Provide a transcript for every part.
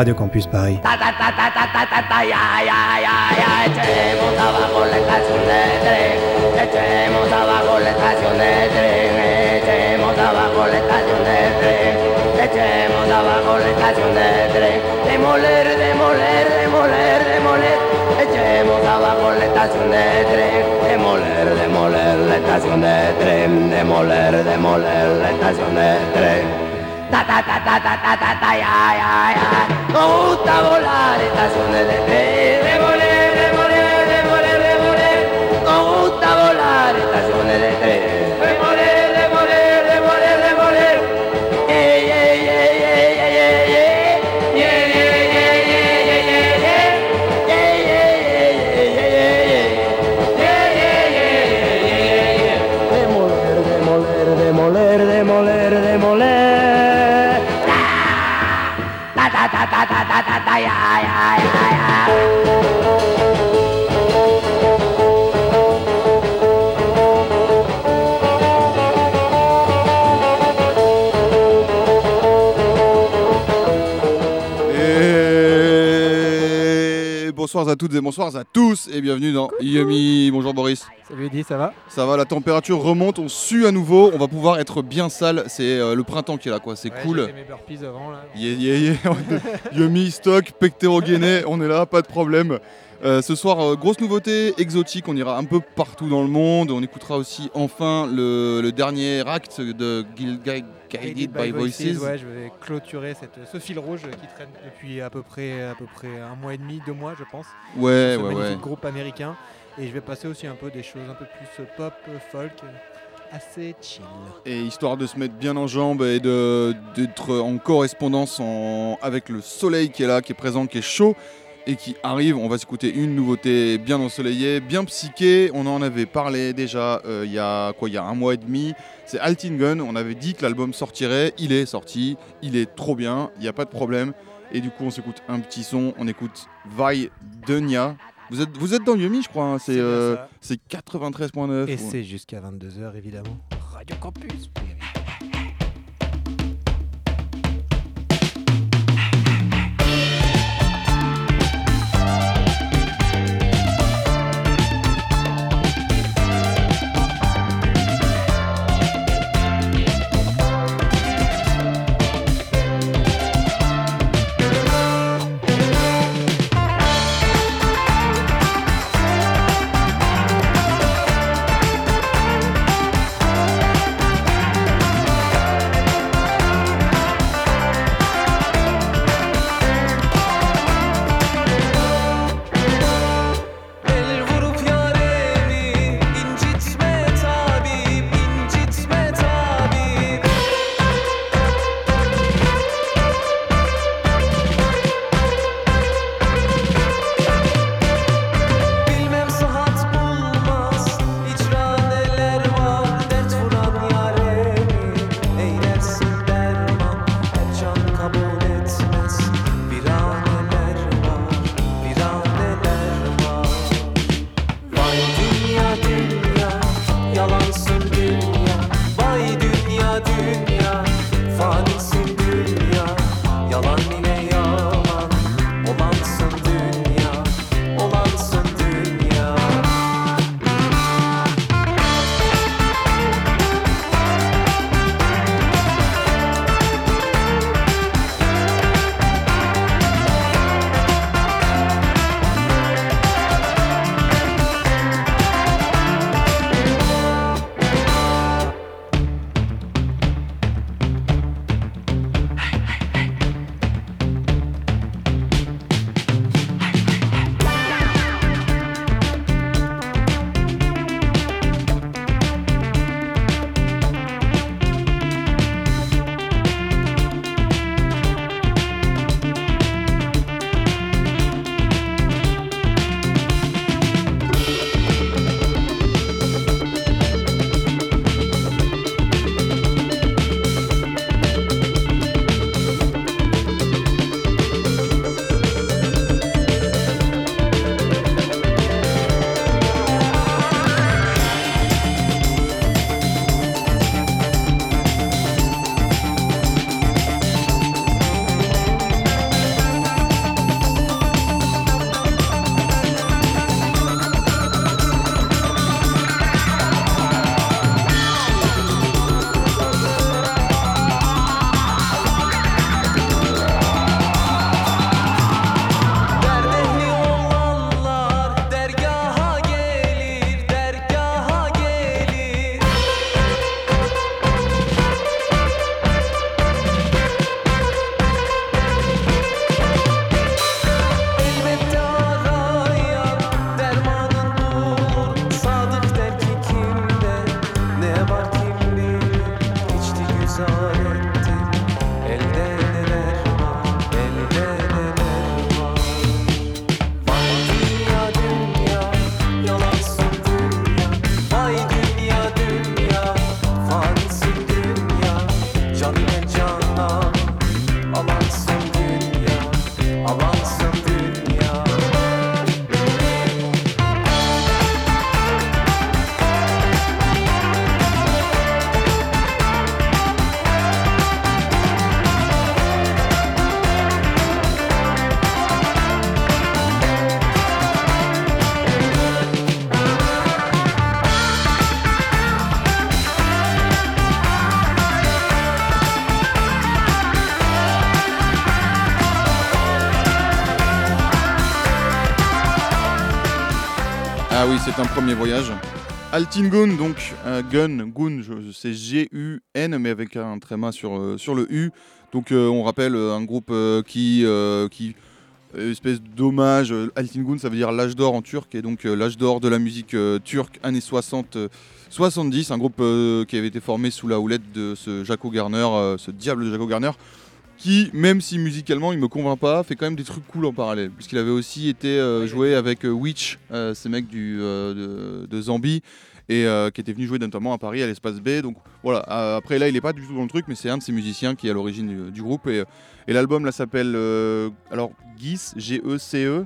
Radio Campus Paris. Echemos abajo la estación de tren, echemos abajo la estación de tren, echemos abajo la estación de tren, echemos abajo la estación de tren, demoler, demoler, demoler, demoler, echemos abajo la estación de tren, demoler, demoler la estación de tren, demoler, demoler la estación de tren. Ta ta ta ta ta ta ta ta ya ya ya. Nos gusta volar estaciones de tren, demoler, demoler, demoler, demoler. Nos gusta volar estaciones de tren, demoler, demoler, demoler, demoler. Yeah yeah yeah yeah yeah yeah yeah yeah yeah yeah yeah yeah yeah yeah yeah. Demoler, demoler, demoler, demoler, demoler. Ta ta ta ta ta ta ta ya ya ya ya. Et bonsoir à toutes et bonsoir à tous et bienvenue dans Yumi. Bonjour Boris. Salut Eddy, ça va? Ça va, la température remonte, on sue à nouveau, on va pouvoir être bien sale, c'est le printemps qui est là quoi, c'est cool. J'ai fait mes burpees avant là. Yumi, stock, pectorogainé, on est là, pas de problème. Ce soir, grosse nouveauté, exotique, on ira un peu partout dans le monde, on écoutera aussi enfin le dernier acte de Guided by Voices. Ouais, je vais clôturer ce fil rouge qui traîne depuis à peu près un mois et demi, 2 mois je pense. Ouais, ce ouais, magnifique ouais. groupe américain. Et je vais passer aussi un peu des choses un peu plus pop, folk, assez chill. Et histoire de se mettre bien en jambes et d'être en correspondance avec le soleil qui est là, qui est présent, qui est chaud et qui arrive, on va s'écouter une nouveauté bien ensoleillée, bien psyché. On en avait parlé déjà il y a un mois et demi. C'est Altingen, on avait dit que l'album sortirait, il est sorti, il est trop bien, il n'y a pas de problème. Et du coup on s'écoute un petit son, on écoute Vai Denia. Vous êtes dans Yumi, je crois, hein. C'est 93.9. Et c'est jusqu'à 22h évidemment. Radio Campus. Ta Ah oui, c'est un premier voyage. Altingun, donc Gun, c'est G-U-N, mais avec un tréma sur le U. Donc on rappelle un groupe qui espèce d'hommage. Altingun, ça veut dire l'âge d'or en turc, et donc l'âge d'or de la musique turque, années 60-70. Un groupe qui avait été formé sous la houlette de ce Jaco Garner, ce diable de Jaco Garner, qui, même si musicalement il me convainc pas, fait quand même des trucs cool en parallèle. Puisqu'il avait aussi été joué avec Witch, ces mecs de Zambie, et qui était venu jouer notamment à Paris à l'Espace B. Donc voilà, après là il est pas du tout dans le truc, mais c'est un de ces musiciens qui est à l'origine du groupe. Et l'album là s'appelle Gece, G-E-C-E.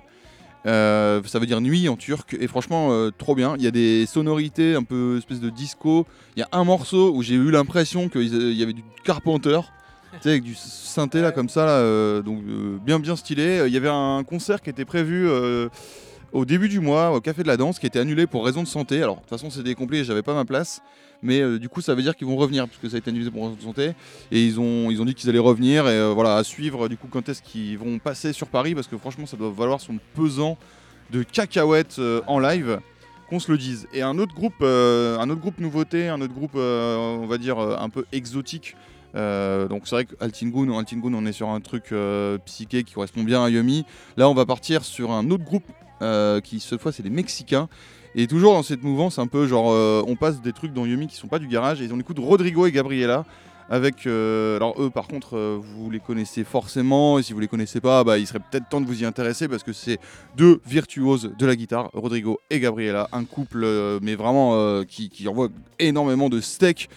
Ça veut dire nuit en turc, et franchement trop bien. Il y a des sonorités un peu espèce de disco. Il y a un morceau où j'ai eu l'impression qu'il y avait du Carpenter, tu sais, avec du synthé là comme ça là, donc bien stylé. Il y avait un concert qui était prévu au début du mois au Café de la Danse, qui était annulé pour raison de santé. Alors de toute façon c'était complet, j'avais pas ma place, mais du coup ça veut dire qu'ils vont revenir, parce que ça a été annulé pour raison de santé, et ils ont dit qu'ils allaient revenir. Et voilà, à suivre du coup quand est-ce qu'ils vont passer sur Paris, parce que franchement ça doit valoir son pesant de cacahuètes en live, qu'on se le dise. Et un autre groupe nouveauté, un autre groupe on va dire un peu exotique. Donc c'est vrai qu'Altingun, on est sur un truc psyché qui correspond bien à Yumi. Là on va partir sur un autre groupe qui cette fois c'est des Mexicains. Et toujours dans cette mouvance un peu genre on passe des trucs dans Yumi qui sont pas du garage, et on écoute Rodrigo et Gabriela avec alors eux par contre vous les connaissez forcément, et si vous les connaissez pas, bah, il serait peut-être temps de vous y intéresser, parce que c'est deux virtuoses de la guitare, Rodrigo et Gabriela, un couple mais vraiment qui envoie énormément de steak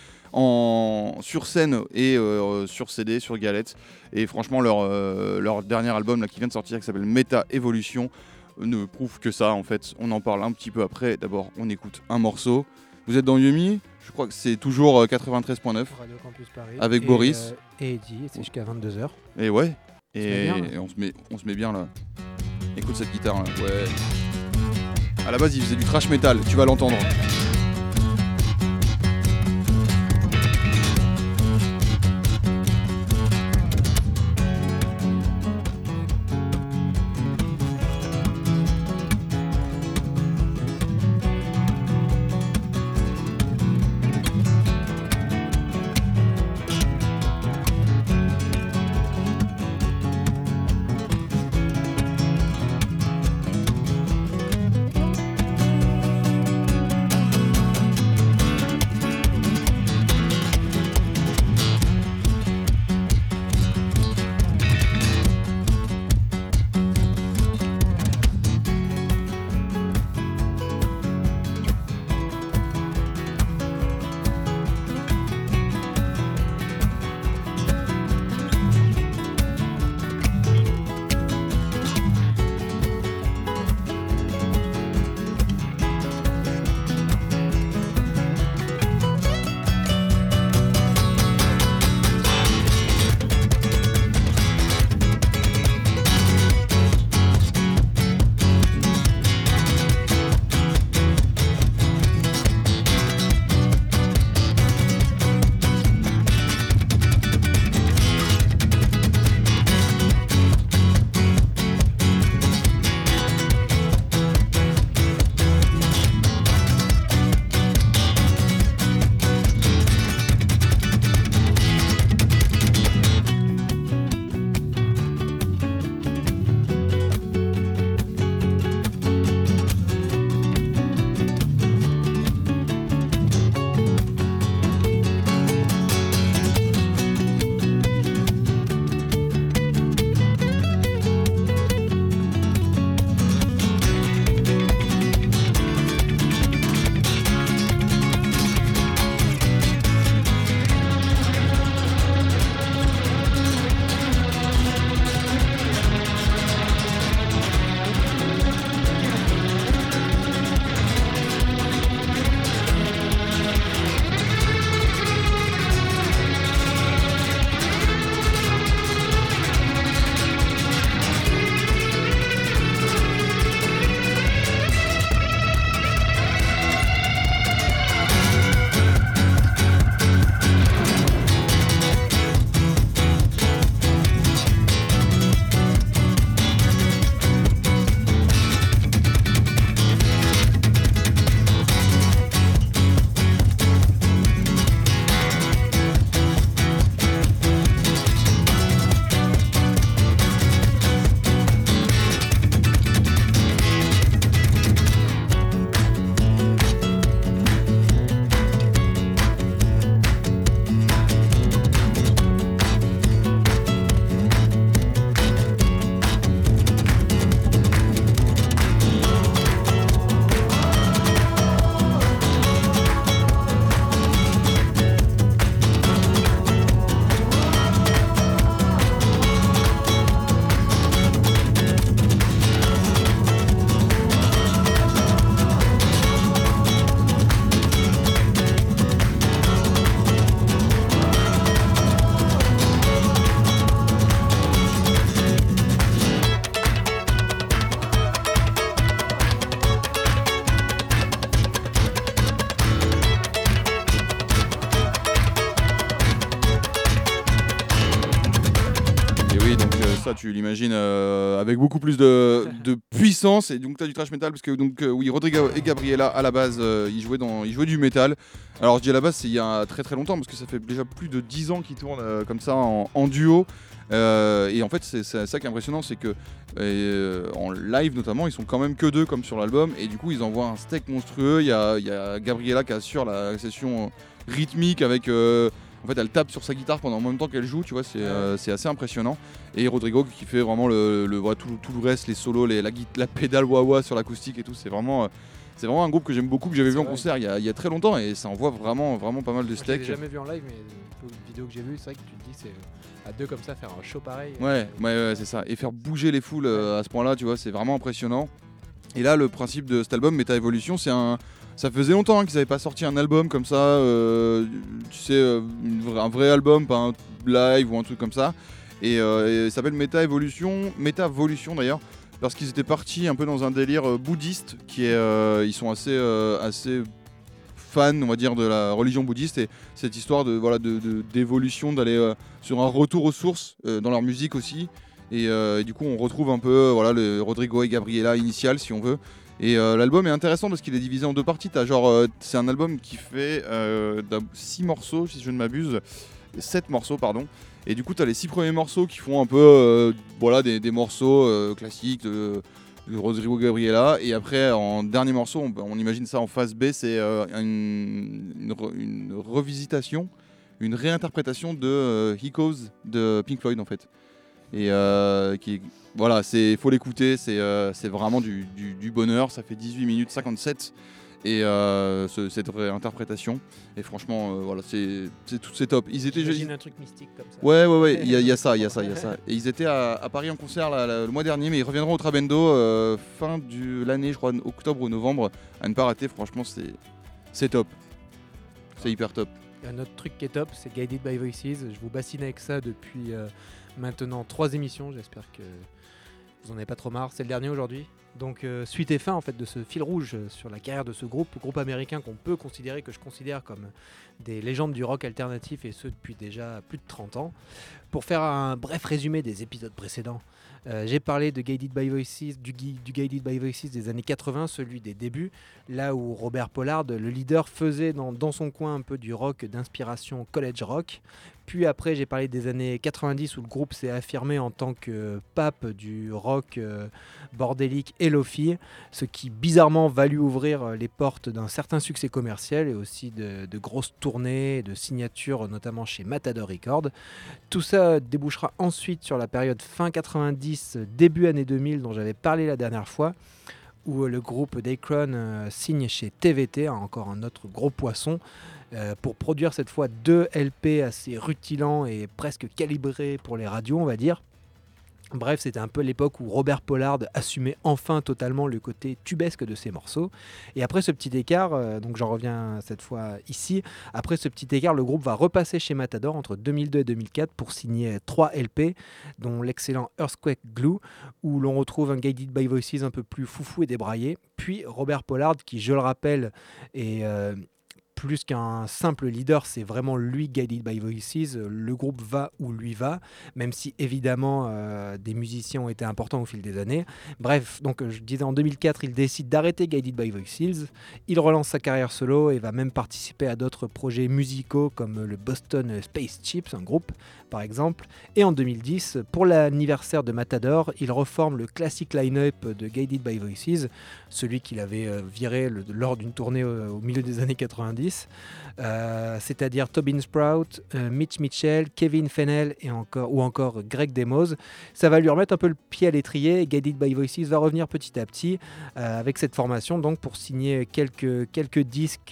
sur scène et sur CD, sur galette. Et franchement leur dernier album là, qui vient de sortir, qui s'appelle Meta Evolution, ne prouve que ça en fait. On en parle un petit peu après. D'abord on écoute un morceau. Vous êtes dans Yumi, je crois que c'est toujours 93.9 Radio Campus Paris, avec Boris et Eddie, c'est jusqu'à 22h. et ouais, et on on se met bien là. Écoute cette guitare là. Ouais, à la base il faisait du thrash metal, tu vas l'entendre. ça, tu l'imagines avec beaucoup plus de puissance. Et donc tu as du thrash metal parce que oui, Rodrigo et Gabriela à la base ils jouaient du métal. Alors je dis à la base c'est il y a très très longtemps parce que ça fait déjà plus de 10 ans qu'ils tournent comme ça en duo. Et en fait c'est ça qui est impressionnant, c'est que en live notamment ils sont quand même que deux comme sur l'album, et du coup ils envoient un steak monstrueux. Il y a Gabriela qui assure la session rythmique avec en fait elle tape sur sa guitare pendant en même temps qu'elle joue, tu vois, c'est assez impressionnant. Et Rodrigo qui fait vraiment tout le reste, les solos, la pédale wah-wah sur l'acoustique et tout, c'est vraiment un groupe que j'aime beaucoup, que j'avais vu en concert il y a très longtemps, et ça envoie vraiment pas mal de steak. Je l'ai jamais vu en live, mais une vidéo que j'ai vue, c'est vrai que tu te dis, c'est à deux comme ça, faire un show pareil. Ouais, c'est ça. Et faire bouger les foules à ce point-là, tu vois, c'est vraiment impressionnant. Et là, le principe de cet album, Meta Evolution, ça faisait longtemps qu'ils n'avaient pas sorti un album comme ça, tu sais, un vrai album, pas un live ou un truc comme ça. Et il s'appelle Meta Evolution d'ailleurs, parce qu'ils étaient partis un peu dans un délire bouddhiste, ils sont assez fans, on va dire, de la religion bouddhiste, et cette histoire d'évolution, d'aller sur un retour aux sources dans leur musique aussi. Et du coup, on retrouve un peu le Rodrigo et Gabriela initial, si on veut. Et l'album est intéressant parce qu'il est divisé en deux parties. C'est un album qui fait 6 morceaux, si je ne m'abuse, 7 morceaux, pardon. Et du coup, tu as les 6 premiers morceaux qui font un peu des morceaux classiques de Rodrigo Gabriela. Et après, en dernier morceau, on imagine ça en phase B, c'est une revisitation, une réinterprétation de Echoes de Pink Floyd en fait. Et faut l'écouter, c'est vraiment du bonheur. Ça fait 18 minutes 57 et cette réinterprétation, et franchement c'est top. J'imagine un truc mystique comme ça. Ouais, il y a ça. Et ils étaient à Paris en concert le mois dernier, mais ils reviendront au Trabendo fin de l'année, je crois, octobre ou novembre, à ne pas rater. Franchement c'est top, c'est hyper top. Un autre truc qui est top, c'est Guided by Voices. Je vous bassine avec ça depuis maintenant 3 émissions. J'espère que vous en avez pas trop marre. C'est le dernier aujourd'hui. Donc suite et fin en fait de ce fil rouge sur la carrière de ce groupe américain que je considère comme des légendes du rock alternatif, et ce depuis déjà plus de 30 ans. Pour faire un bref résumé des épisodes précédents, j'ai parlé de Guided by Voices, du Guided by Voices des années 80, celui des débuts, là où Robert Pollard, le leader, faisait dans son coin un peu du rock d'inspiration college rock. Puis après, j'ai parlé des années 90 où le groupe s'est affirmé en tant que pape du rock bordélique et lo-fi, ce qui bizarrement va lui ouvrir les portes d'un certain succès commercial et aussi de grosses tournées, de signatures, notamment chez Matador Records. Tout ça débouchera ensuite sur la période fin 90, début année 2000 dont j'avais parlé la dernière fois, où le groupe Dacron signe chez TVT, encore un autre gros poisson, pour produire cette fois 2 LP assez rutilants et presque calibrés pour les radios, on va dire. Bref, c'était un peu l'époque où Robert Pollard assumait enfin totalement le côté tubesque de ses morceaux. Et après ce petit écart, donc j'en reviens cette fois ici, après ce petit écart, le groupe va repasser chez Matador entre 2002 et 2004 pour signer 3 LP, dont l'excellent Earthquake Glue, où l'on retrouve un Guided by Voices un peu plus foufou et débraillé. Puis Robert Pollard, qui, je le rappelle, est plus qu'un simple leader, c'est vraiment lui Guided by Voices. Le groupe va où lui va, même si évidemment des musiciens ont été importants au fil des années. Bref, donc je disais en 2004, il décide d'arrêter Guided by Voices. Il relance sa carrière solo et va même participer à d'autres projets musicaux comme le Boston Space Chips, un groupe par exemple. Et en 2010, pour l'anniversaire de Matador, il reforme le classique line-up de Guided by Voices, celui qu'il avait viré lors d'une tournée au milieu des années 90. C'est-à-dire Tobin Sprout, Mitch Mitchell, Kevin Fennell ou encore Greg Demos. Ça va lui remettre un peu le pied à l'étrier, et Guided by Voices va revenir petit à petit avec cette formation, donc pour signer quelques disques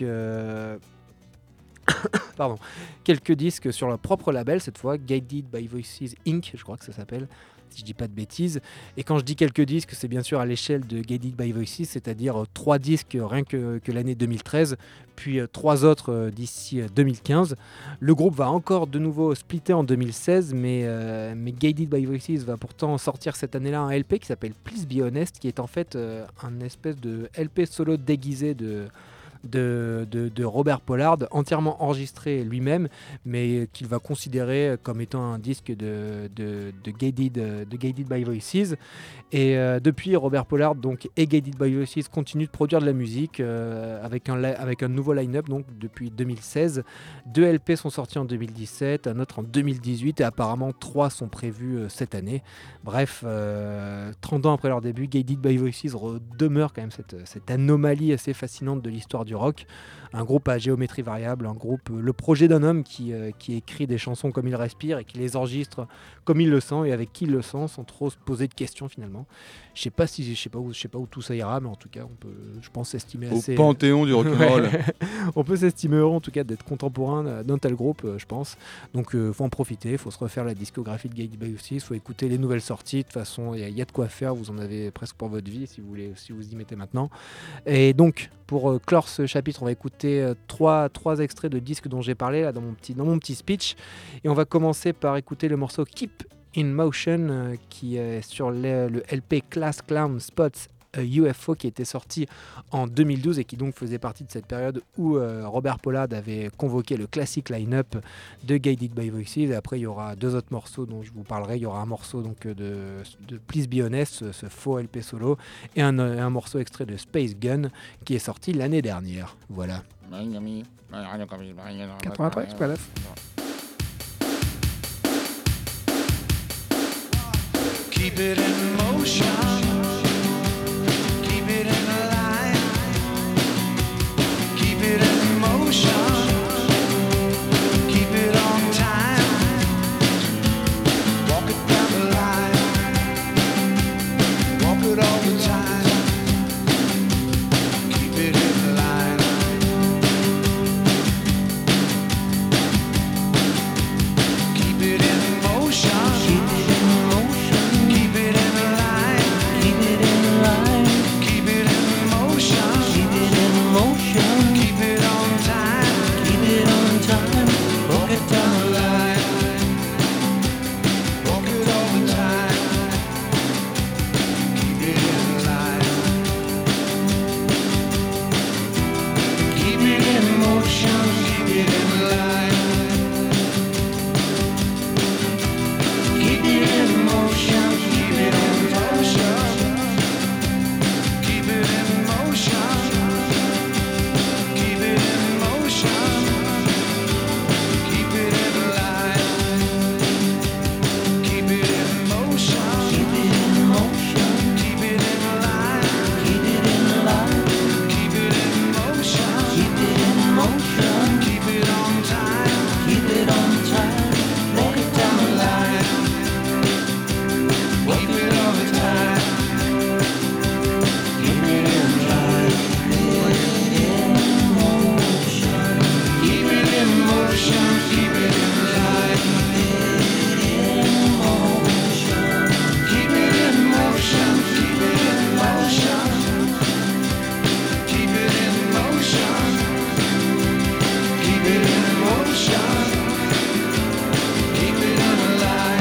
quelques disques sur leur propre label, cette fois Guided by Voices Inc., je crois que ça s'appelle, si je dis pas de bêtises. Et quand je dis quelques disques, c'est bien sûr à l'échelle de Guided by Voices, c'est-à-dire 3 disques rien que l'année 2013, puis 3 autres d'ici 2015. Le groupe va encore de nouveau splitter en 2016, mais Guided by Voices va pourtant sortir cette année-là un LP qui s'appelle Please Be Honest, qui est en fait un espèce de LP solo déguisé de de Robert Pollard, entièrement enregistré lui-même, mais qu'il va considérer comme étant un disque de Guided by Voices. Et depuis, Robert Pollard donc, et Guided by Voices continuent de produire de la musique avec un nouveau line-up donc, depuis 2016. 2 LP sont sortis en 2017, un autre en 2018 et apparemment 3 sont prévus cette année. Bref, 30 ans après leur début, Guided by Voices demeure quand même cette anomalie assez fascinante de l'histoire du rock. Un groupe à géométrie variable, le projet d'un homme qui écrit des chansons comme il respire et qui les enregistre comme il le sent et avec qui il le sent sans trop se poser de questions finalement. Je sais pas où tout ça ira, mais en tout cas on peut, je pense, s'estimer assez... Au panthéon du rock'n'roll. On peut s'estimer heureux en tout cas d'être contemporain d'un tel groupe, je pense. Donc faut en profiter, faut se refaire la discographie de Guided by Voices, faut écouter les nouvelles sorties. De toute façon, il y a de quoi faire, vous en avez presque pour votre vie si vous y mettez maintenant. Et donc pour clore ce chapitre, on va écouter trois extraits de disques dont j'ai parlé là, dans mon petit speech. Et on va commencer par écouter le morceau Keep in Motion qui est sur le LP Class Clown Spots UFO qui était sorti en 2012 et qui donc faisait partie de cette période où Robert Pollard avait convoqué le classique line-up de Guided by Voices. Et après il y aura 2 autres morceaux dont je vous parlerai. Il y aura un morceau donc de Please Be Honest, ce faux LP solo, et un morceau extrait de Space Gun qui est sorti l'année dernière. Voilà. 93, pas là. Keep it in motion. Keep it in line. Keep it in motion. Keep it on time. Walk it down the line. Walk it all the time. Keep it in line. Keep it in motion. Keep it in motion. Keep it in line. Keep it in line. Keep it in motion. Keep it in motion. Keep it on time. Keep it on time. Walk it down the line. Walk it all the time. Keep it in line. Keep it in motion. Keep it in line. Keep it in motion. Keep it in motion. Keep it in motion. Keep it in motion. Keep it in line. Keep it in motion. Keep it in motion. Keep it in line. Keep it in line. Keep it in motion. Keep it in motion. Keep it on time. Keep it on time. Walk it down the line. Keep it all the time. Keep it in line. Keep it in motion. Keep it in line. Keep it in motion. Keep it in motion. Keep it in motion. Keep it in motion. Keep it in line.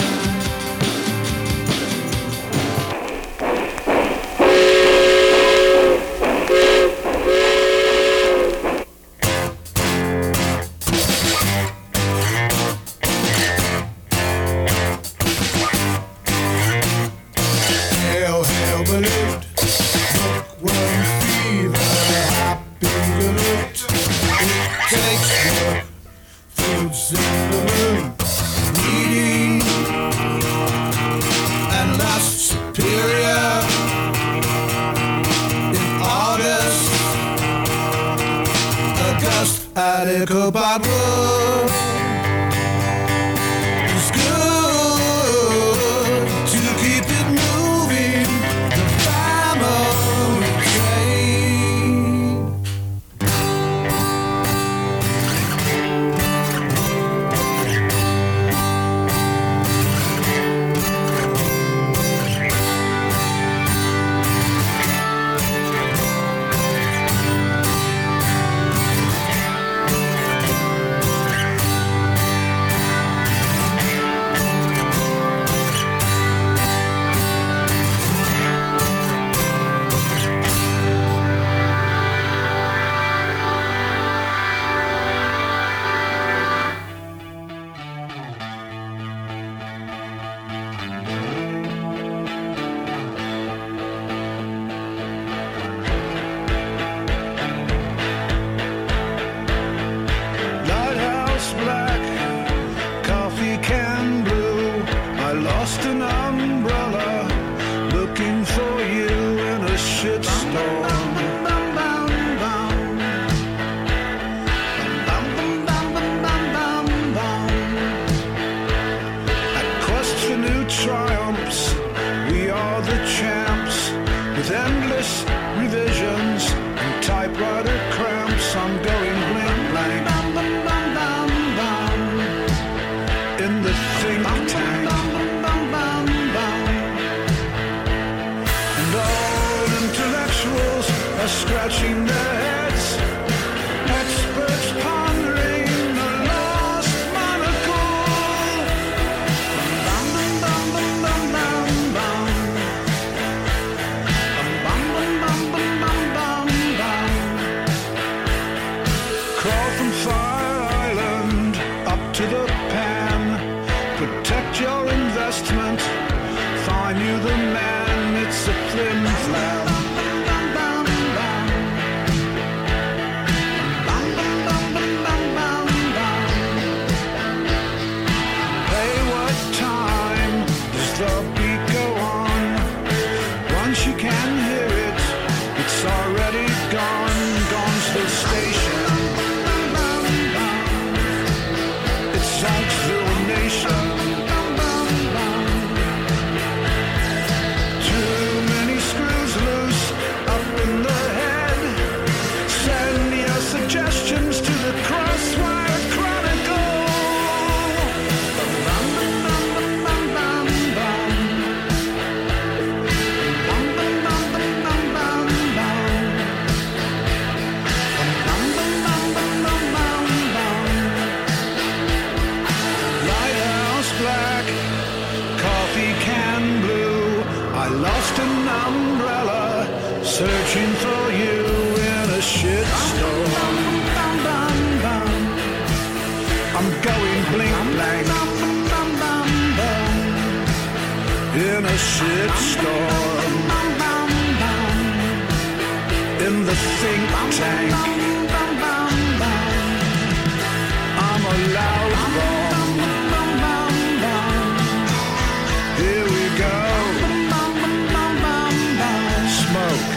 Hail, hail, balut, bookworm fever, happy galut. It takes work, food's in the room, needy and lust superior. In August, a gust at Ichabod Wood. It's good to keep it moving, the family train. shitstorm. At quest for new triumphs, we are the champs. With endless revisions and typewriter cramps, I'm going blank blank in the think tank. And all intellectuals are scratching their heads, experts pondering the lost monocle. Bum, bum, bum, bum, bum, bum, bum. Bum, bum, bum, bum, bum, bum, bum. Crawl from Fire Island up to the pan. Protect your investment. Find you the man. It's a flim flam. Hey, what time does the beat go on? Once you can hear it, it's already gone. Gone's the station. It songs through a nation. Too many screws loose up in the head. Send your suggestions to the Crosswire Chronicle. Bum, bum, bum, bum, bum, bum, bum. Bum, bum, bum, bum, bum, bum, bum. Bum, bum, bum, bum, bum, bum, bum. Lighthouse black, coffee can blue. I lost an umbrella, searching for you in a shitstorm. I'm going blink blank in a shitstorm. In the think tank, I'm a loud bomb. Here we go. Smoke.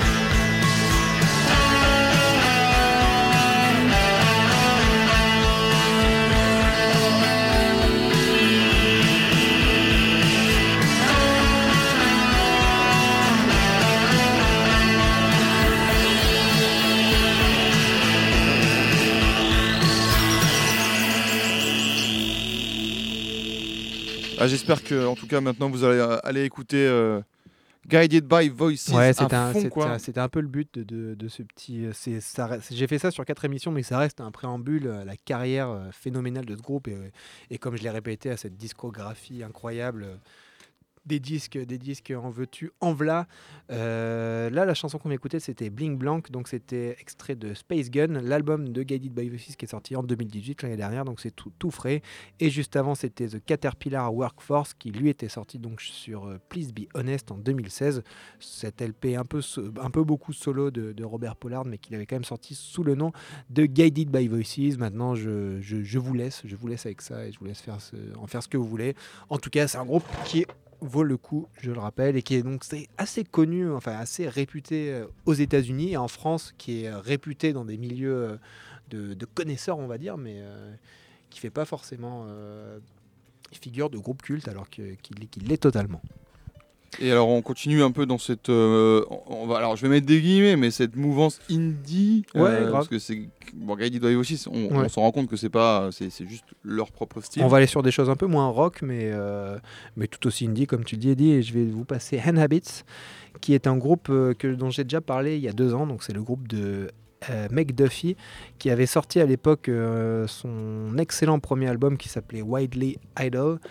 Ah, j'espère que, en tout cas, maintenant vous allez aller écouter Guided by Voices Ouais, à c'était fond, quoi. un peu le but de ce petit. J'ai fait ça sur 4 émissions, mais ça reste un préambule à la carrière phénoménale de ce groupe. Et comme je l'ai répété, à cette discographie incroyable. Des disques en veux-tu, en v'là. Là, la chanson qu'on écoutait, c'était Bling Blank, donc c'était extrait de Space Gun, l'album de Guided by Voices qui est sorti en 2018, l'année dernière, donc c'est tout frais. Et juste avant, c'était The Caterpillar Workforce qui lui était sorti donc sur Please Be Honest en 2016. Cet LP un peu beaucoup solo de Robert Pollard, mais qu'il avait quand même sorti sous le nom de Guided by Voices. Maintenant, je vous laisse avec ça et je vous laisse en faire ce que vous voulez. En tout cas, c'est un groupe qui vaut le coup, je le rappelle, et qui est donc assez connu, enfin assez réputé aux États-Unis et en France, qui est réputé dans des milieux de connaisseurs, on va dire, mais qui fait pas forcément figure de groupe culte, alors qu'il l'est totalement. Et alors on continue un peu dans cette, alors je vais mettre des guillemets, mais cette mouvance indie, grave. parce que c'est Guided by Voices, on s'en rend compte que c'est juste leur propre style. On va aller sur des choses un peu moins rock, mais tout aussi indie, comme tu le dis, Eddie, et je vais vous passer Hand Habits, qui est un groupe dont j'ai déjà parlé il y a 2 ans, donc c'est le groupe de Meg Duffy, qui avait sorti à l'époque son excellent premier album qui s'appelait Widely Idol,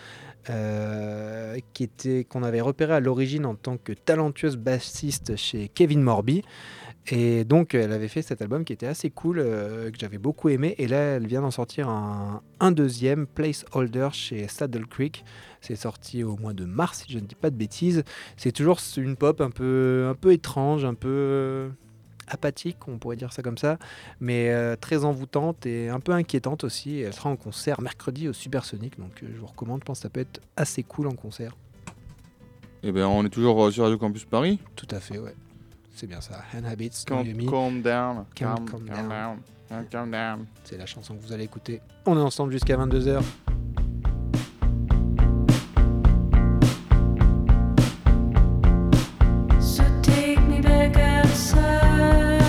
qu'on avait repéré à l'origine en tant que talentueuse bassiste chez Kevin Morby. Et donc elle avait fait cet album qui était assez cool, que j'avais beaucoup aimé, et là elle vient d'en sortir un deuxième, Placeholder, chez Saddle Creek. C'est sorti au mois de mars, si je ne dis pas de bêtises. C'est toujours une pop un peu étrange, un peu apathique, on pourrait dire ça comme ça, mais très envoûtante et un peu inquiétante aussi. Et elle sera en concert mercredi au Supersonic, donc je vous recommande, je pense que ça peut être assez cool en concert. Et ben on est toujours sur Radio Campus Paris. Tout à fait, ouais. C'est bien ça. Hand Habits, Calm Yumi. down. Calm Calm down. down. Calm down. C'est la chanson que vous allez écouter. On est ensemble jusqu'à 22h. So take me back outside.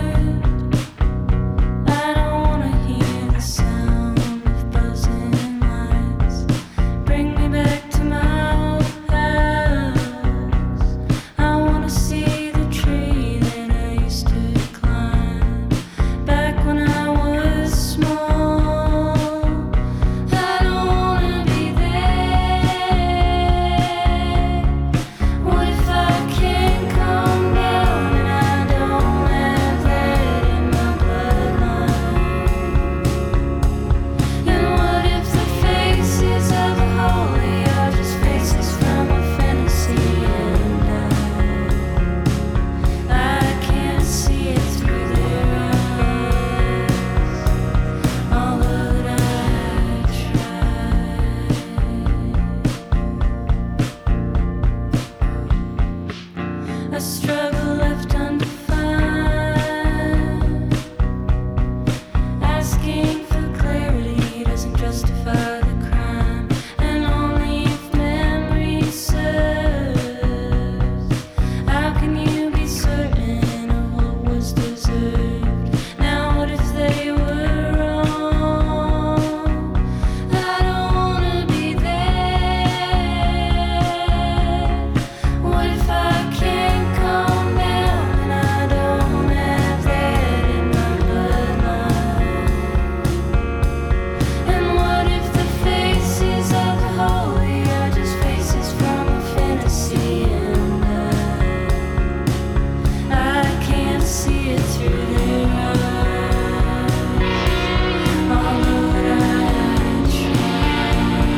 I don't wanna hear the sound of buzzing lights. Bring me back to my old house. I wanna see the tree that I used to climb back when I was small. I don't wanna be there. What if I can't calm down and I don't have that in my bloodline? And what if the faces of the holy are just faces from a fantasy and I can't see it through their eyes, although I try. A struggle left undefined, asking for clarity doesn't justify the crime, and only if memory serves. How can you be certain of what was deserved? Now what if they were wrong? I don't wanna be there. What if I can't calm down and I don't have that in my bloodline? And what if the faces of the holy are just faces from a fantasy and I can't see it through their eyes, although I try.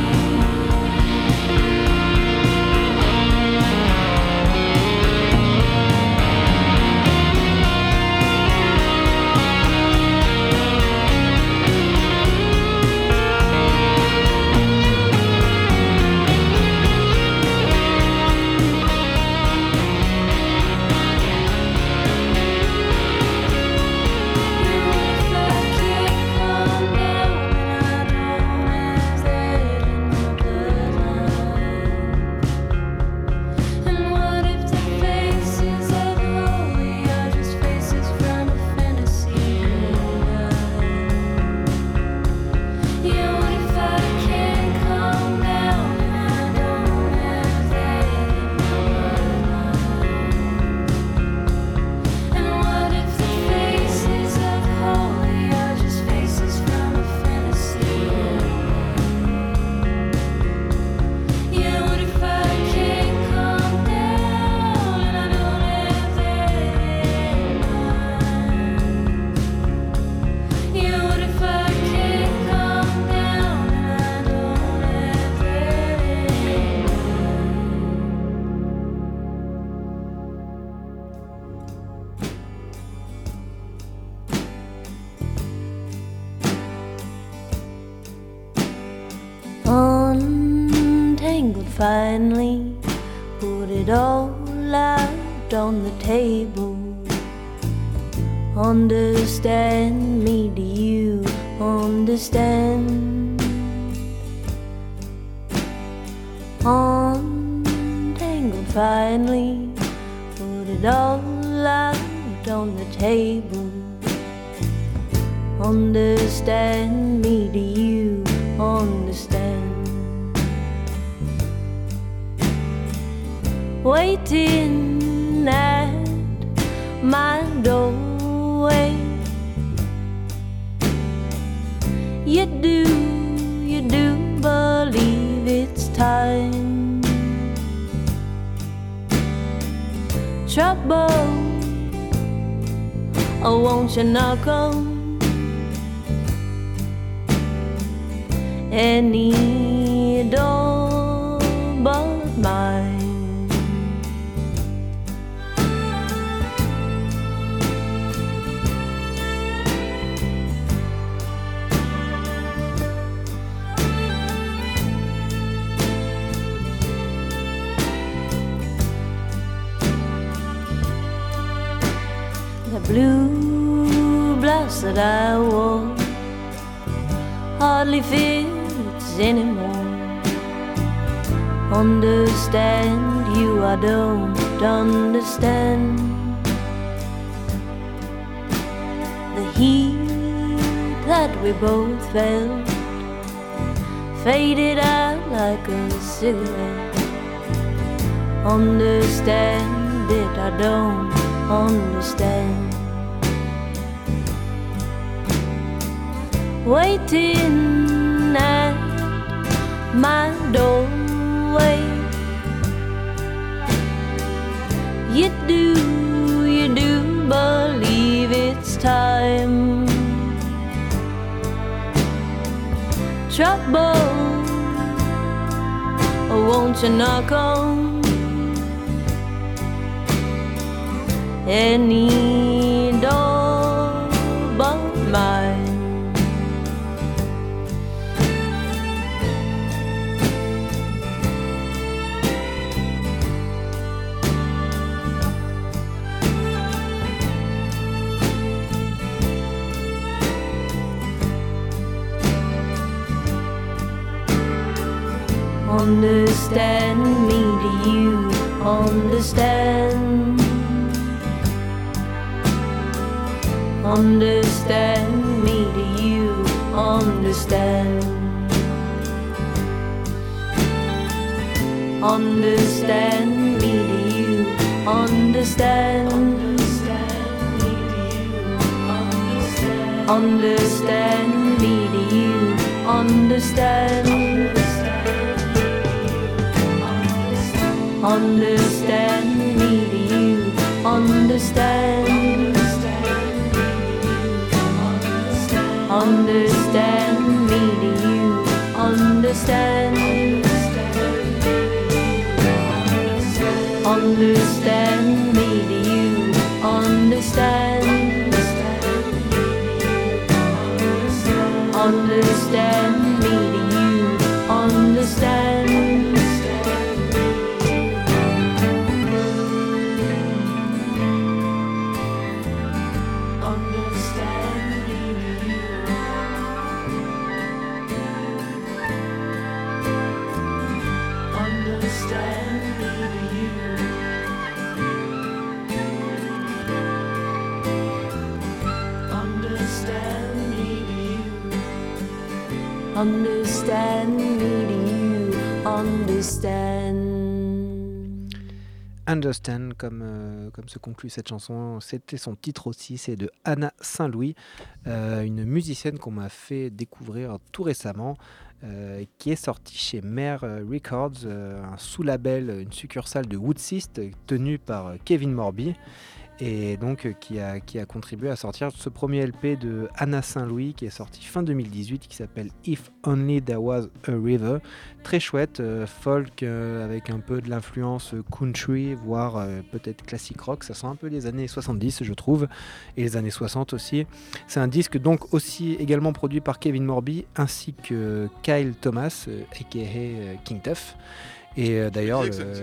Untangled finally, put it all out on the table. Understand me, do you understand? Untangled finally, put it all out on the table. Understand me, do you understand? Waiting at my doorway, you do believe it's time. Trouble, oh, won't you knock on any door but mine? The blue blouse that I wore hardly fits anymore. Understand you, I don't understand. The heat that we both felt faded out like a cigarette. Understand it, I don't understand. Waiting at my doorway, you do believe it's time. Trouble, won't you knock on any door but mine? Understand me, do you understand? Understand me, do you understand? Understand me, do you understand? Understand me, do you understand? Understand me, do you understand? Understand me, do you understand? Understand me, do you understand? Understand me, do you understand? Understand me, do you understand? Understand, comme se conclut cette chanson, c'était son titre aussi, c'est de Anna Saint-Louis, une musicienne qu'on m'a fait découvrir tout récemment, qui est sortie chez Mare Records, un sous-label, une succursale de Woodsist tenue par Kevin Morby, et donc qui a contribué à sortir ce premier LP de Anna Saint-Louis qui est sorti fin 2018, qui s'appelle If Only There Was a River. Très chouette, folk avec un peu de l'influence country, voire peut-être classique rock. Ça sent un peu les années 70 je trouve, et les années 60 aussi. C'est un disque donc aussi également produit par Kevin Morby ainsi que Kyle Thomas, aka King Tuff. Et d'ailleurs,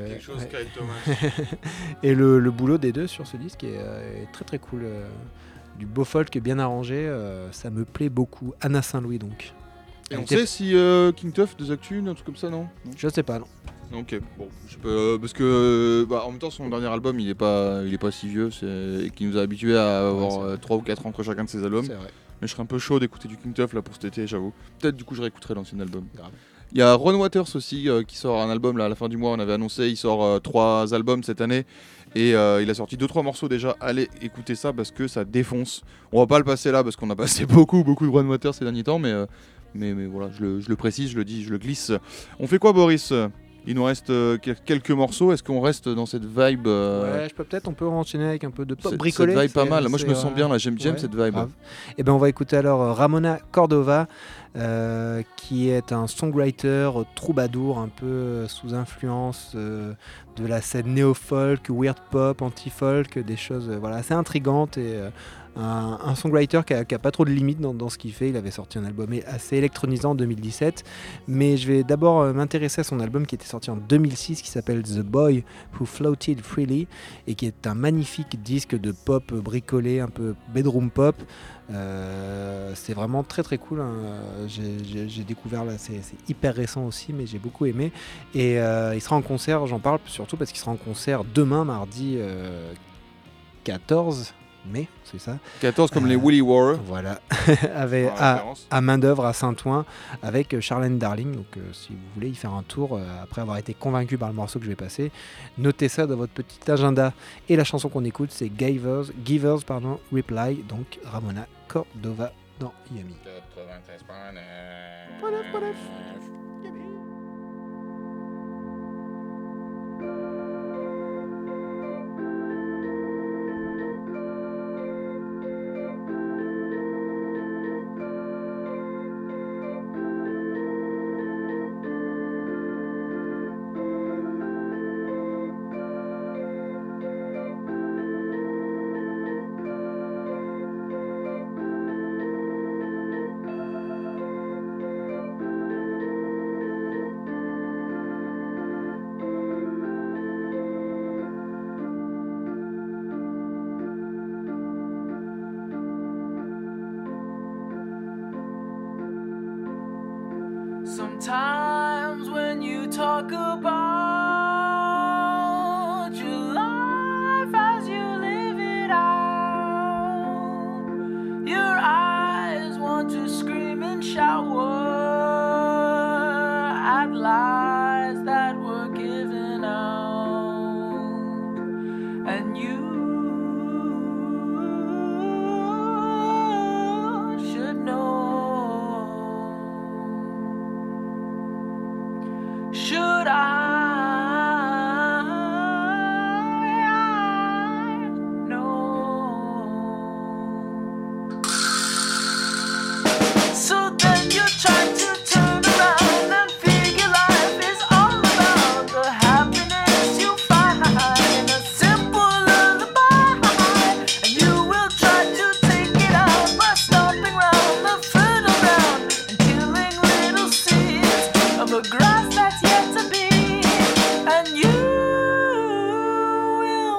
et le boulot des deux sur ce disque est très très cool. Du beau folk bien arrangé, ça me plaît beaucoup. Anna Saint-Louis donc. Et on sait si King Tuff, des actus, un truc comme ça, non? Je sais pas, non. Ok, bon, je peux, parce que en même temps son dernier album il est pas si vieux, et qui nous a habitués à avoir 3 ou 4 ans entre chacun de ses albums. C'est vrai. Mais je serais un peu chaud d'écouter du King Tuff là pour cet été, j'avoue. Peut-être du coup je réécouterai l'ancien album. Grave. Il y a Ron Waters aussi qui sort un album là à la fin du mois, on avait annoncé, il sort 3 albums cette année et il a sorti 2-3 morceaux déjà. Allez écouter ça parce que ça défonce. On va pas le passer là parce qu'on a passé beaucoup de Ron Waters ces derniers temps, mais voilà, je le précise, je le dis, je le glisse. On fait quoi, Boris ? Il nous reste quelques morceaux. Est-ce qu'on reste dans cette vibe Ouais, on peut enchaîner avec un peu de pop bricolé. Cette vibe pas mal. Moi, je me sens bien là. J'aime cette vibe. Et ben, on va écouter alors Ramona Cordova qui est un songwriter troubadour un peu sous influence de la scène néo-folk, weird pop, anti-folk, des choses voilà, assez intrigantes et un songwriter qui a pas trop de limites dans ce qu'il fait. Il avait sorti un album assez électronisant en 2017, mais je vais d'abord m'intéresser à son album qui était sorti en 2006 qui s'appelle The Boy Who Floated Freely et qui est un magnifique disque de pop bricolé, un peu bedroom pop. C'est vraiment très très cool, hein. J'ai découvert là, c'est hyper récent aussi, mais j'ai beaucoup aimé et il sera en concert, j'en parle surtout parce qu'il sera en concert demain mardi 14 mai, c'est ça, 14 comme les Willy Warriors. voilà, avec, Pour la référence. à main d'œuvre à Saint-Ouen avec Charlène Darling. Donc si vous voulez y faire un tour après avoir été convaincu par le morceau que je vais passer, notez ça dans votre petit agenda. Et la chanson qu'on écoute, c'est Givers Reply, donc Ramona Cordova dans Yummy. 93.9. Sometimes when you talk about your life as you live it out, your eyes want to scream and shower at lies that were given out, and you should know. Should I know? So then you try to turn around and figure life is all about the happiness you find in a simple lullaby, and you will try to take it out by stomping round the fertile ground and killing little seeds of a grass that's yet to be, and you will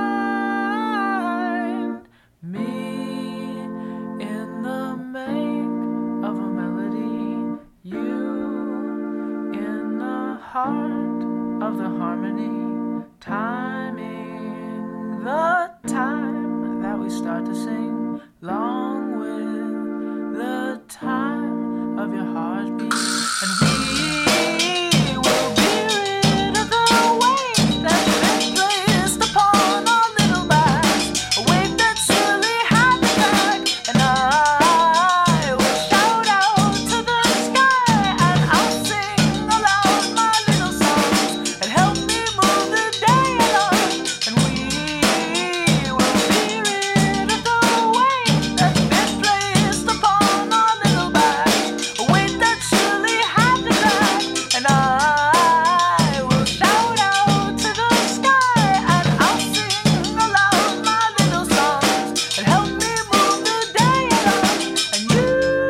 find me in the make of a melody, you in the heart of the harmony, timing the time that we start to sing, along with the time of your heartbeat, and we will be rid of the weight that's been placed upon our little backs, a weight that surely had me back, and I will shout out to the sky, and I'll sing aloud my little songs, and help me move the day along, and we will be rid of the weight that's been placed upon our little backs, a weight that surely had me back, and I will shout out to the sky, and I'll sing aloud my little songs, and help me move the day along, and you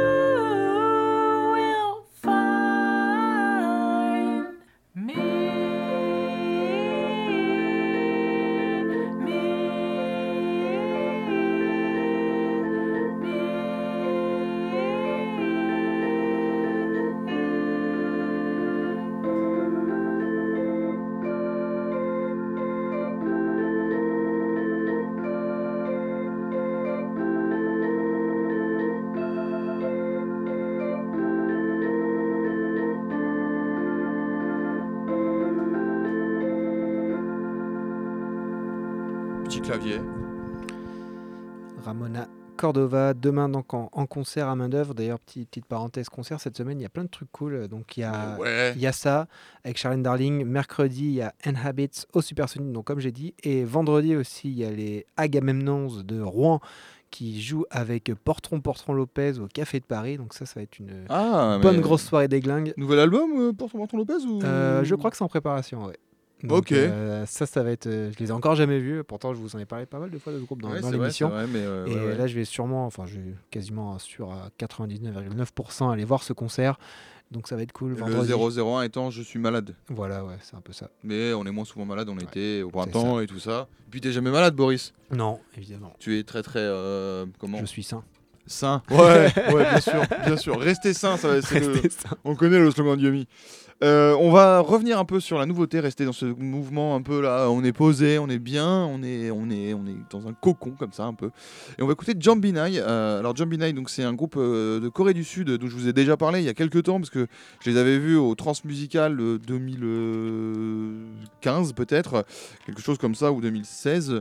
will find me. Petit clavier. Ramona Cordova, demain donc en concert à main d'œuvre. D'ailleurs, petite parenthèse concert, cette semaine, il y a plein de trucs cool. Donc, il y a, Ouais. il y a ça avec Charlène Darling. Mercredi, il y a Inhabits au Supersonic, donc comme j'ai dit. Et vendredi aussi, il y a les Agamemnons de Rouen qui joue avec Portron Lopez au Café de Paris. Donc ça va être une Ah, bonne mais- grosse soirée des glingues. Nouvel album pour Martin Lopez ou... Je crois que c'est en préparation, ouais. Donc, Ok. ça va être. Je les ai encore jamais vus. Pourtant, je vous en ai parlé pas mal de fois de ce groupe dans, Ouais, dans c'est vrai, l'émission. c'est vrai, mais, Et ouais, ouais. là, je vais sûrement, enfin, je suis quasiment sûr à 99,9% aller voir ce concert. Donc ça va être cool. Le Vendredi. 001 étant je suis malade. Voilà, ouais, c'est un peu ça. Mais on est moins souvent malade, on Ouais, était au c'est printemps et tout ça. Puis t'es jamais malade, Boris. Non, évidemment. Tu es très très comment Je suis sain. sain. Ouais, ouais, bien sûr, bien sûr. Restez sain, ça, c'est le... Restez sain. On connaît le slogan de Yumi. On va revenir un peu sur la nouveauté, rester dans ce mouvement un peu là, on est posé, on est bien, on est dans un cocon comme ça un peu. Et on va écouter Jambi Nai. Alors Jambi Nai, donc c'est un groupe de Corée du Sud dont je vous ai déjà parlé il y a quelques temps parce que je les avais vus au Transmusical 2015 peut-être, quelque chose comme ça, ou 2016.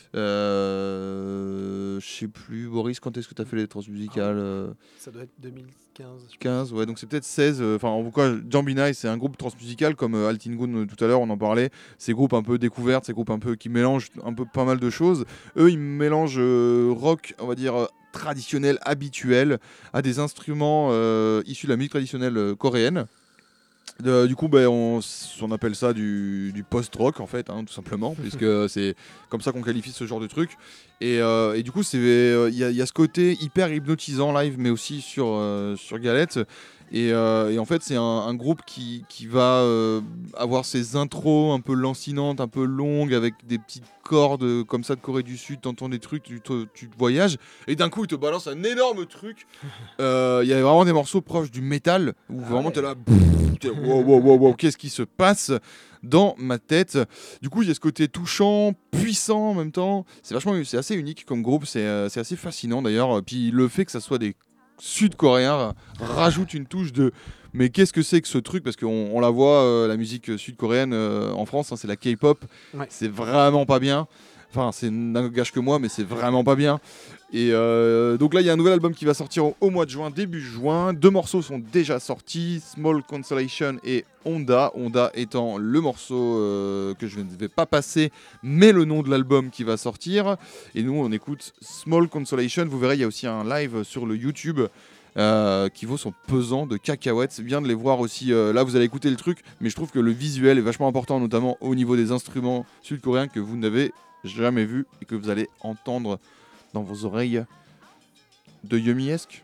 Je sais plus, Boris, quand est-ce que tu as fait les Transmusicales Ça doit être 2015. 15, ouais, donc c'est peut-être 16. Enfin, en tout cas, Jambi Nai, c'est un groupe transmusical comme Altingun tout à l'heure, on en parlait. Ces groupes un peu découvertes, ces groupes un peu qui mélangent un peu pas mal de choses. Eux, ils mélangent rock, on va dire traditionnel, habituel, à des instruments issus de la musique traditionnelle coréenne. Du coup, on appelle ça du post-rock en fait, hein, tout simplement, puisque c'est comme ça qu'on qualifie ce genre de truc. Et du coup, il y a ce côté hyper hypnotisant live, mais aussi sur Galette. Et en fait, c'est un groupe qui va avoir ses intros un peu lancinantes, un peu longues, avec des petites cordes comme ça de Corée du Sud. T'entends des trucs, tu te voyages, et d'un coup, il te balance un énorme truc. Il y a vraiment des morceaux proches du métal, où vraiment t'es là, wow, qu'est-ce qui se passe dans ma tête. Du coup, il y a ce côté touchant, puissant en même temps. C'est assez unique comme groupe, c'est assez fascinant d'ailleurs. Puis le fait que ça soit des Sud-Coréens rajoute une touche de mais qu'est-ce que c'est que ce truc, parce qu'on la voit la musique sud-coréenne en France, hein, c'est la K-pop, Ouais. c'est vraiment pas bien. Enfin, c'est n'engage que moi, mais c'est vraiment pas bien. Et donc là, il y a un nouvel album qui va sortir au mois de juin, début juin. 2 morceaux sont déjà sortis, Small Consolation et Honda. Honda étant le morceau que je ne vais pas passer, mais le nom de l'album qui va sortir. Et nous, on écoute Small Consolation. Vous verrez, il y a aussi un live sur le YouTube qui vaut son pesant de cacahuètes. C'est bien de les voir aussi. Là, vous allez écouter le truc, mais je trouve que le visuel est vachement important, notamment au niveau des instruments sud-coréens que vous n'avez jamais vu et que vous allez entendre dans vos oreilles de Yumi-esque.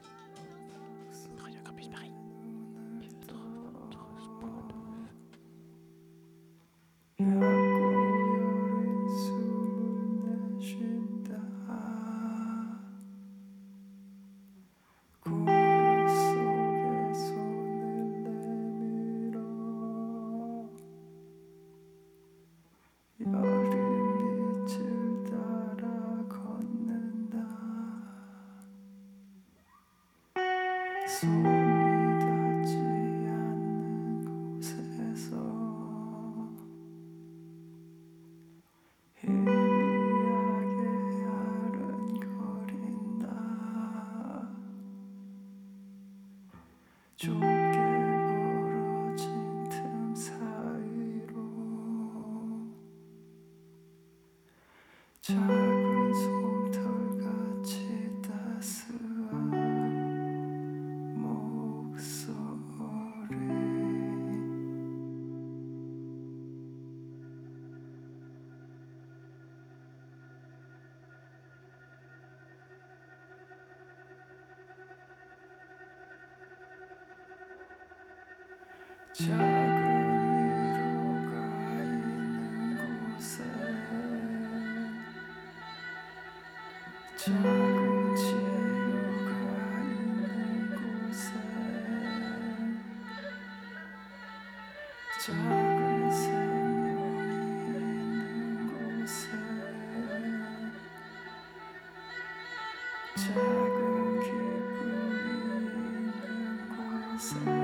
손이 닿지 않는 곳에서 희미하게 아른거린다. 좁게 벌어진 틈 사이로 작은 솜털같이 따스한 목소리. 작은 위로가 있는 곳에 작은 치유가 있는 곳에 작은 생명이 있는 곳에 작은 기쁨이 있는 곳에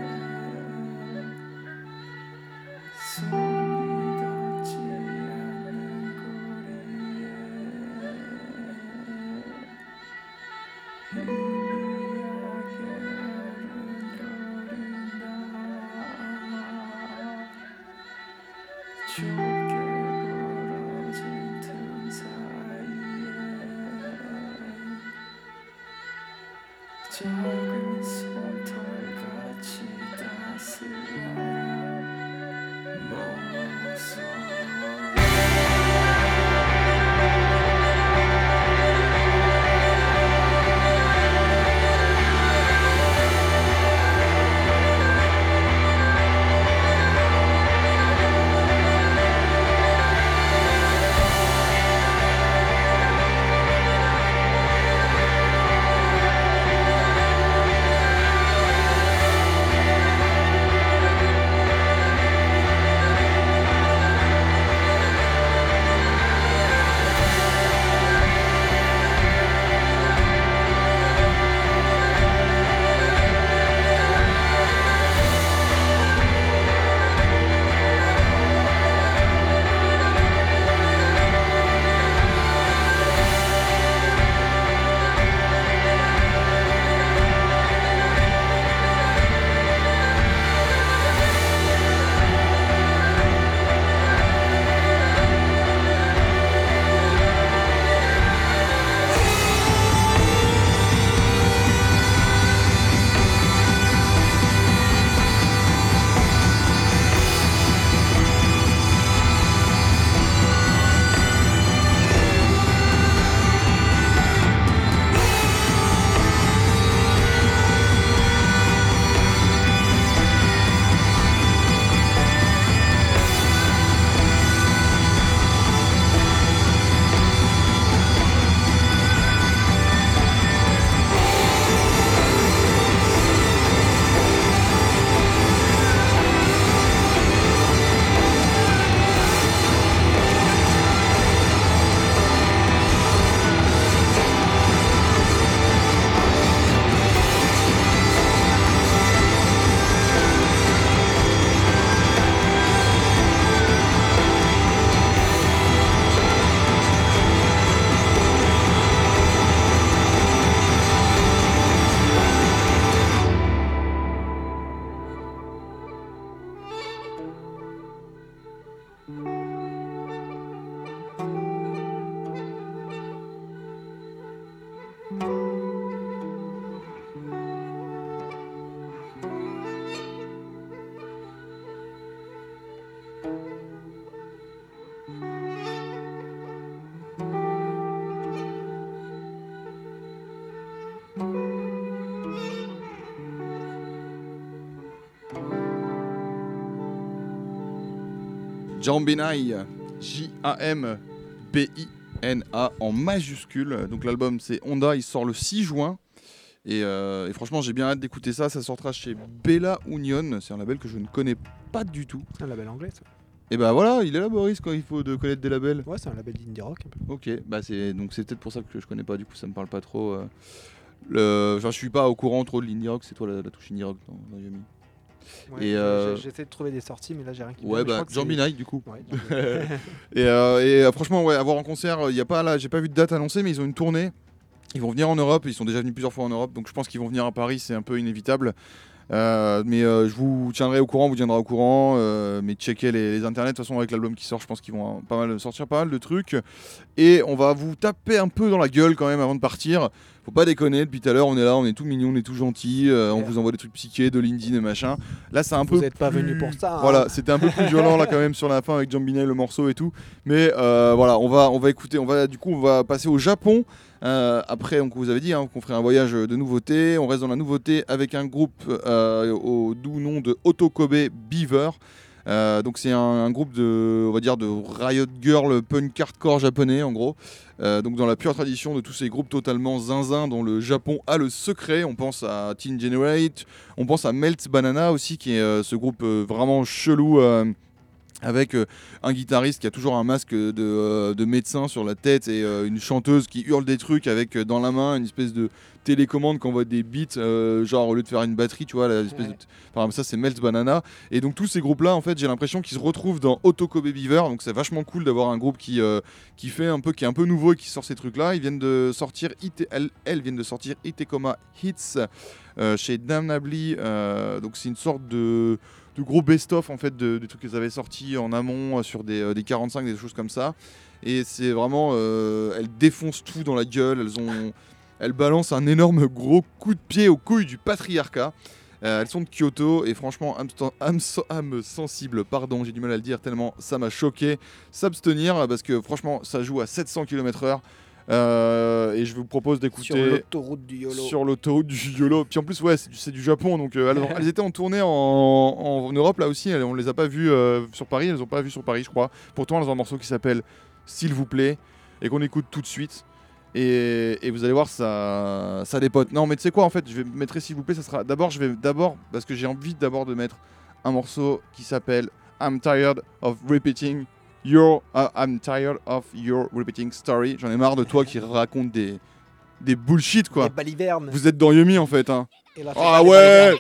손이 닿지 않는 거리에 희미하게 아른거린다. 좁게 벌어진 틈 사이에 작은 솜털같이 따스한 모습 Jambinai, J-A-M-B-I-N-A en majuscule. Donc l'album c'est Honda, il sort le 6 juin. Et franchement j'ai bien hâte d'écouter ça. Ça sortira chez Bella Union. C'est un label que je ne connais pas du tout. Un label anglais, ça. Et bah voilà, il est là Boris quand il faut de connaître des labels. Ouais, c'est un label d'indie rock un peu. Ok, bah c'est peut-être pour ça que je connais pas, du coup ça me parle pas trop. Je suis pas au courant trop de l'indie rock, c'est toi la touche indie rock dans Yumi. Ouais, Et, j'essaie de trouver des sorties, mais là j'ai rien qui me Ouais, vient, mais je bah crois que c'est- Jambinai du coup. Ouais, Franchement, ouais, à voir en concert, y a pas là, j'ai pas vu de date annoncée, mais ils ont une tournée. Ils vont venir en Europe, ils sont déjà venus plusieurs fois en Europe, donc je pense qu'ils vont venir à Paris, c'est un peu inévitable. Je vous tiendrai au courant, vous tiendra au courant, mais checkez les internets. De toute façon, avec l'album qui sort, je pense qu'ils vont sortir pas mal de trucs. Et on va vous taper un peu dans la gueule quand même avant de partir. Faut pas déconner, depuis tout à l'heure, on est là, on est tout mignon, on est tout gentil, on vous envoie des trucs psychés, de l'indie, des machins. Là, c'est un peu. Vous n'êtes pas plus- venu pour ça. hein. Voilà, c'était un peu plus violent là quand même sur la fin avec Jambinai, le morceau et tout. Mais voilà, on va écouter, on va passer au Japon. Après, on vous avait dit qu'on ferait un voyage de nouveautés. On reste dans la nouveauté avec un groupe au doux nom de Otokobe Beaver. Donc c'est un groupe de, on va dire, de Riot Girl punk hardcore japonais en gros. Donc dans la pure tradition de tous ces groupes totalement zinzin dont le Japon a le secret. On pense à Teen Generate, on pense à Melt Banana aussi qui est ce groupe vraiment chelou. Avec un guitariste qui a toujours un masque de médecin sur la tête et une chanteuse qui hurle des trucs avec dans la main une espèce de télécommande qui envoie des beats, genre au lieu de faire une batterie, tu vois, l'espèce de... Enfin, ça c'est Melt Banana. Et donc tous ces groupes-là, en fait, j'ai l'impression qu'ils se retrouvent dans Otokobe Beaver. Donc c'est vachement cool d'avoir un groupe qui fait un peu, qui est un peu nouveau et qui sort ces trucs-là. Ils viennent de sortir, elles viennent de sortir Itekoma Hits chez Damnably. Donc c'est une sorte de gros best-of en fait des trucs qu'elles avaient sortis en amont sur des 45, des choses comme ça. Et c'est vraiment, elles défoncent tout dans la gueule. elles balancent un énorme gros coup de pied aux couilles du patriarcat. Elles sont de Kyoto et franchement, âme sensible, pardon, j'ai du mal à le dire tellement ça m'a choqué. S'abstenir parce que franchement, ça joue à 700 km/h. Et je vous propose d'écouter Sur l'autoroute du YOLO. sur l'autoroute du YOLO. Puis en plus, ouais, c'est du Japon, donc elles étaient en tournée en Europe là aussi. On les a pas vues sur Paris, elles ont pas vu sur Paris, je crois. Pourtant, elles ont un morceau qui s'appelle S'il vous plaît et qu'on écoute tout de suite. Et vous allez voir, ça dépote. Non, mais tu sais quoi, en fait, je vais mettre S'il vous plaît. Ça sera d'abord, parce que j'ai envie d'abord de mettre un morceau qui s'appelle I'm tired of repeating I'm tired of your repeating story. J'en ai marre de toi qui raconte des bullshit quoi. Les balivernes. Vous êtes dans Yumi en fait hein. Et là, Ah les ouais. balivernes.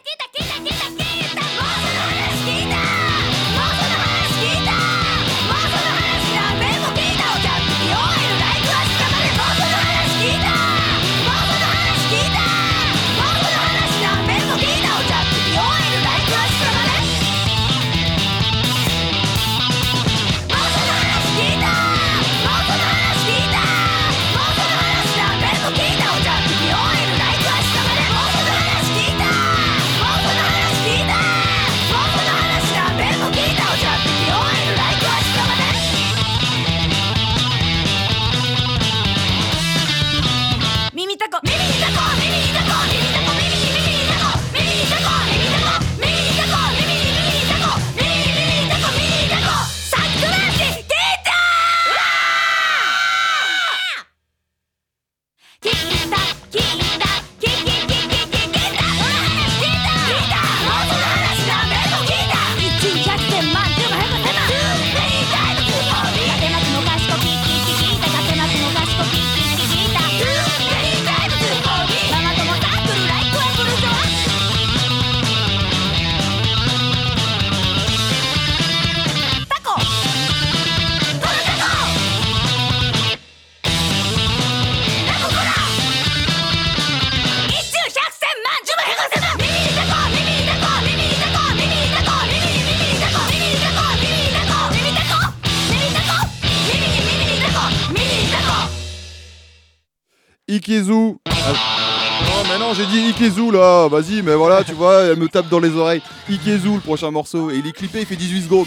Ikezu. Non mais non, j'ai dit Ikezu là. Vas-y, mais voilà, tu vois, elle me tape dans les oreilles. Ikezu, le prochain morceau. Et il est clippé, il fait 18 secondes.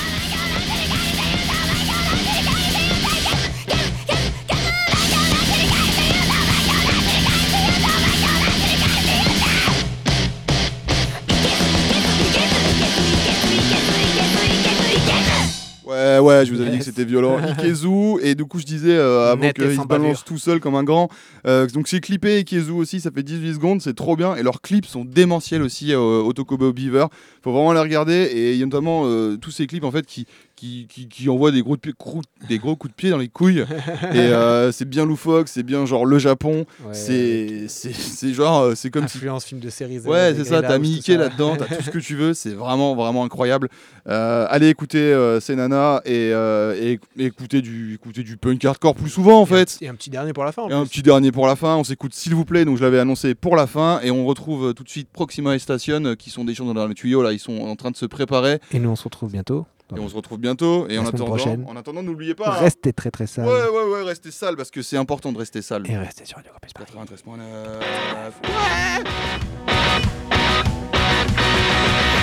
Ouais, je vous avais dit que c'était violent. Ikezu, et du coup, je disais avant Net et qu'il sans se balance bavure. tout seul comme un grand. Donc, c'est clippé, Ikezu aussi, ça fait 18 secondes, c'est trop bien. Et leurs clips sont démentiels aussi au Tokobo Beaver. Faut vraiment les regarder. Et il y a notamment tous ces clips en fait qui envoient des gros coups de pied dans les couilles. Et c'est bien loufoque, c'est bien genre le Japon. Ouais, C'est genre, c'est comme si. influence film de séries. Ouais, c'est ça, t'as Mickey là-dedans, t'as tout ce que tu veux, c'est vraiment, vraiment incroyable. Allez écouter ces nanas et écouter du punk hardcore plus souvent en fait. Et un petit dernier pour la fin. en Et un plus. petit dernier pour la fin, on s'écoute s'il vous plaît, donc je l'avais annoncé pour la fin, et on retrouve tout de suite Proxima et Station qui sont des gens dans le tuyau, là ils sont en train de se préparer, Et nous, on se retrouve bientôt. et on se retrouve bientôt, et La semaine prochaine. en attendant n'oubliez pas, hein. Restez très très sales. Ouais, restez sale, parce que c'est important de rester sale. Et restez sur Radio Campus Paris. 93.9.